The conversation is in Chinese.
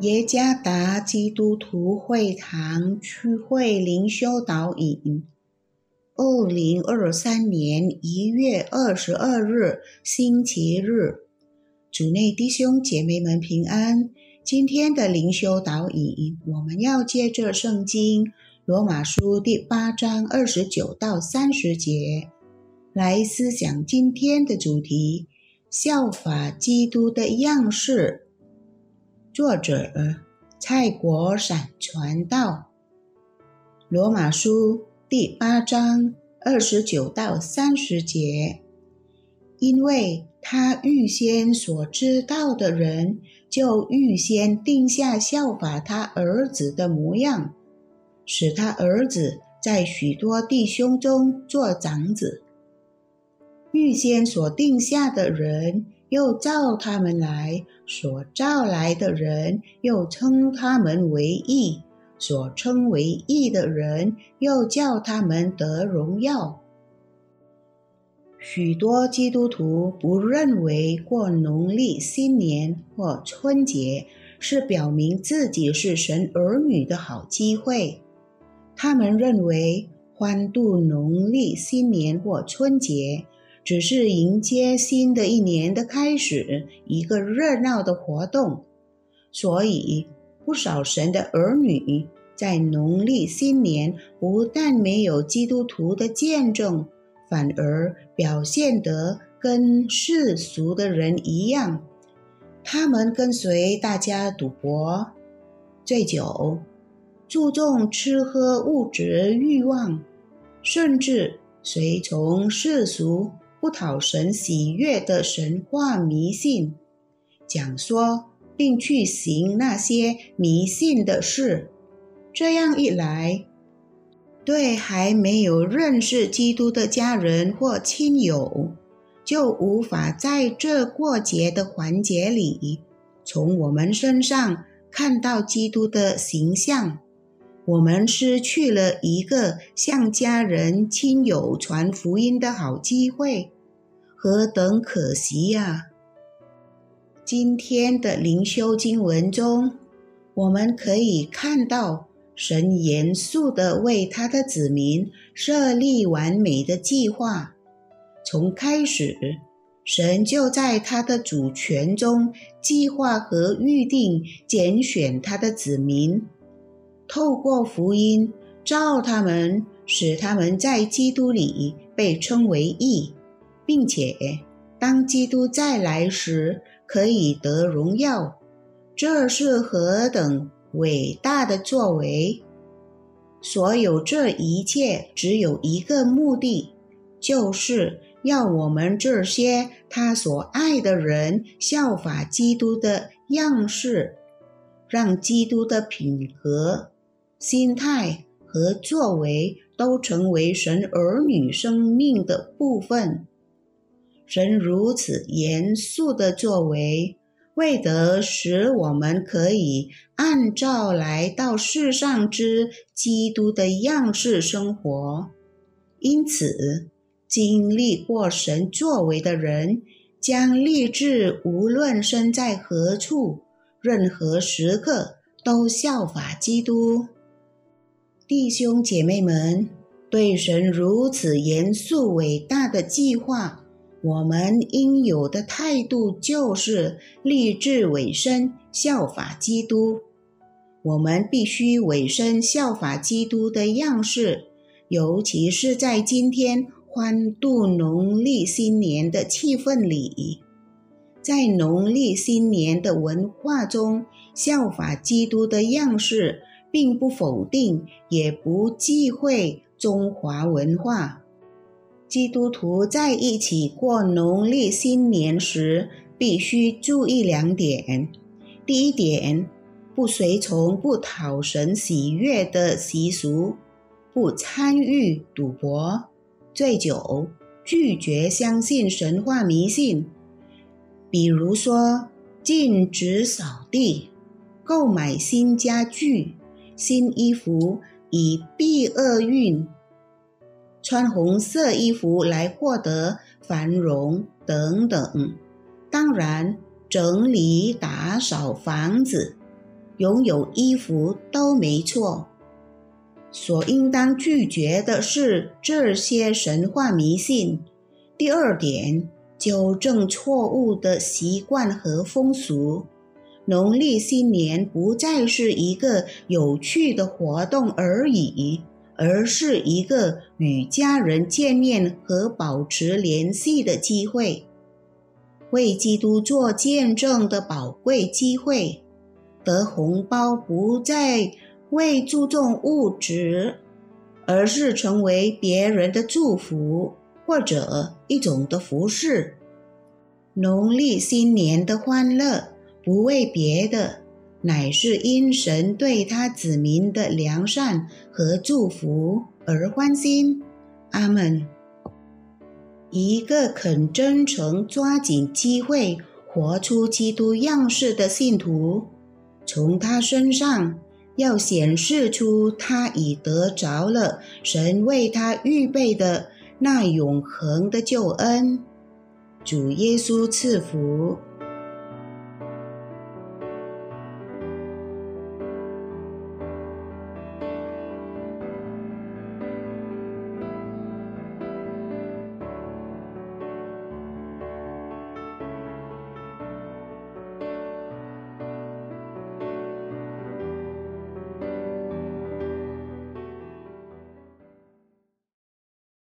耶加达基督徒会堂区会灵修导引2023年1月22日星期日，主内弟兄姐妹们平安。今天的灵修导引，我们要借着圣经罗马书第8章29到30节来思想今天的主题：效法基督的样式。作者蔡国闪传道。罗马书第8章29到30节，因为他预先所知道的人，就预先定下效法他儿子的模样，使他儿子在许多弟兄中做长子。预先所定下的人，又召他们来；所召来的人，又称他们为义；所称为义的人，又叫他们得荣耀。许多基督徒不认为过农历新年或春节是表明自己是神儿女的好机会。他们认为欢度农历新年或春节只是迎接新的一年的开始，一个热闹的活动。所以不少神的儿女在农历新年不但没有基督徒的见证，反而表现得跟世俗的人一样。他们跟随大家赌博、醉酒，注重吃喝物质欲望，甚至随从世俗不讨神喜悦的神话迷信，讲说并去行那些迷信的事。这样一来，对还没有认识基督的家人或亲友，就无法在这过节的环节里，从我们身上看到基督的形象。我们失去了一个向家人亲友传福音的好机会，何等可惜呀！今天的灵修经文中，我们可以看到神严肃地为他的子民设立完美的计划。从开始，神就在他的主权中计划和预定拣选他的子民，透过福音召他们，使他们在基督里被称为义，并且当基督再来时可以得荣耀。这是何等伟大的作为！所有这一切只有一个目的，就是要我们这些他所爱的人效法基督的样式，让基督的品格、心态和作为都成为神儿女生命的部分。神如此严肃的作为，为得使我们可以按照来到世上之基督的样式生活。因此，经历过神作为的人，将立志无论身在何处，任何时刻都效法基督。弟兄姐妹们，对神如此严肃伟大的计划，我们应有的态度就是立志委身效法基督。我们必须委身效法基督的样式，尤其是在今天欢度农历新年的气氛里。在农历新年的文化中，效法基督的样式并不否定，也不忌讳中华文化。基督徒在一起过农历新年时，必须注意2点。第一点，不随从不讨神喜悦的习俗，不参与赌博、醉酒，拒绝相信神话迷信。比如说，禁止扫地、购买新家具、新衣服以避厄运，穿红色衣服来获得繁荣等等。当然，整理打扫房子， 拥有衣服都没错。所应当拒绝的是这些神话迷信。第二点，纠正错误的习惯和风俗。农历新年不再是一个有趣的活动而已，而是一个与家人见面和保持联系的机会，为基督做见证的宝贵机会。得红包不再为注重物质，而是成为别人的祝福或者一种的服饰。农历新年的欢乐不为别的，乃是因神对他子民的良善和祝福而欢心。阿们。一个肯真诚抓紧机会活出基督样式的信徒，从他身上要显示出他已得着了神为他预备的那永恒的救恩。主耶稣赐福。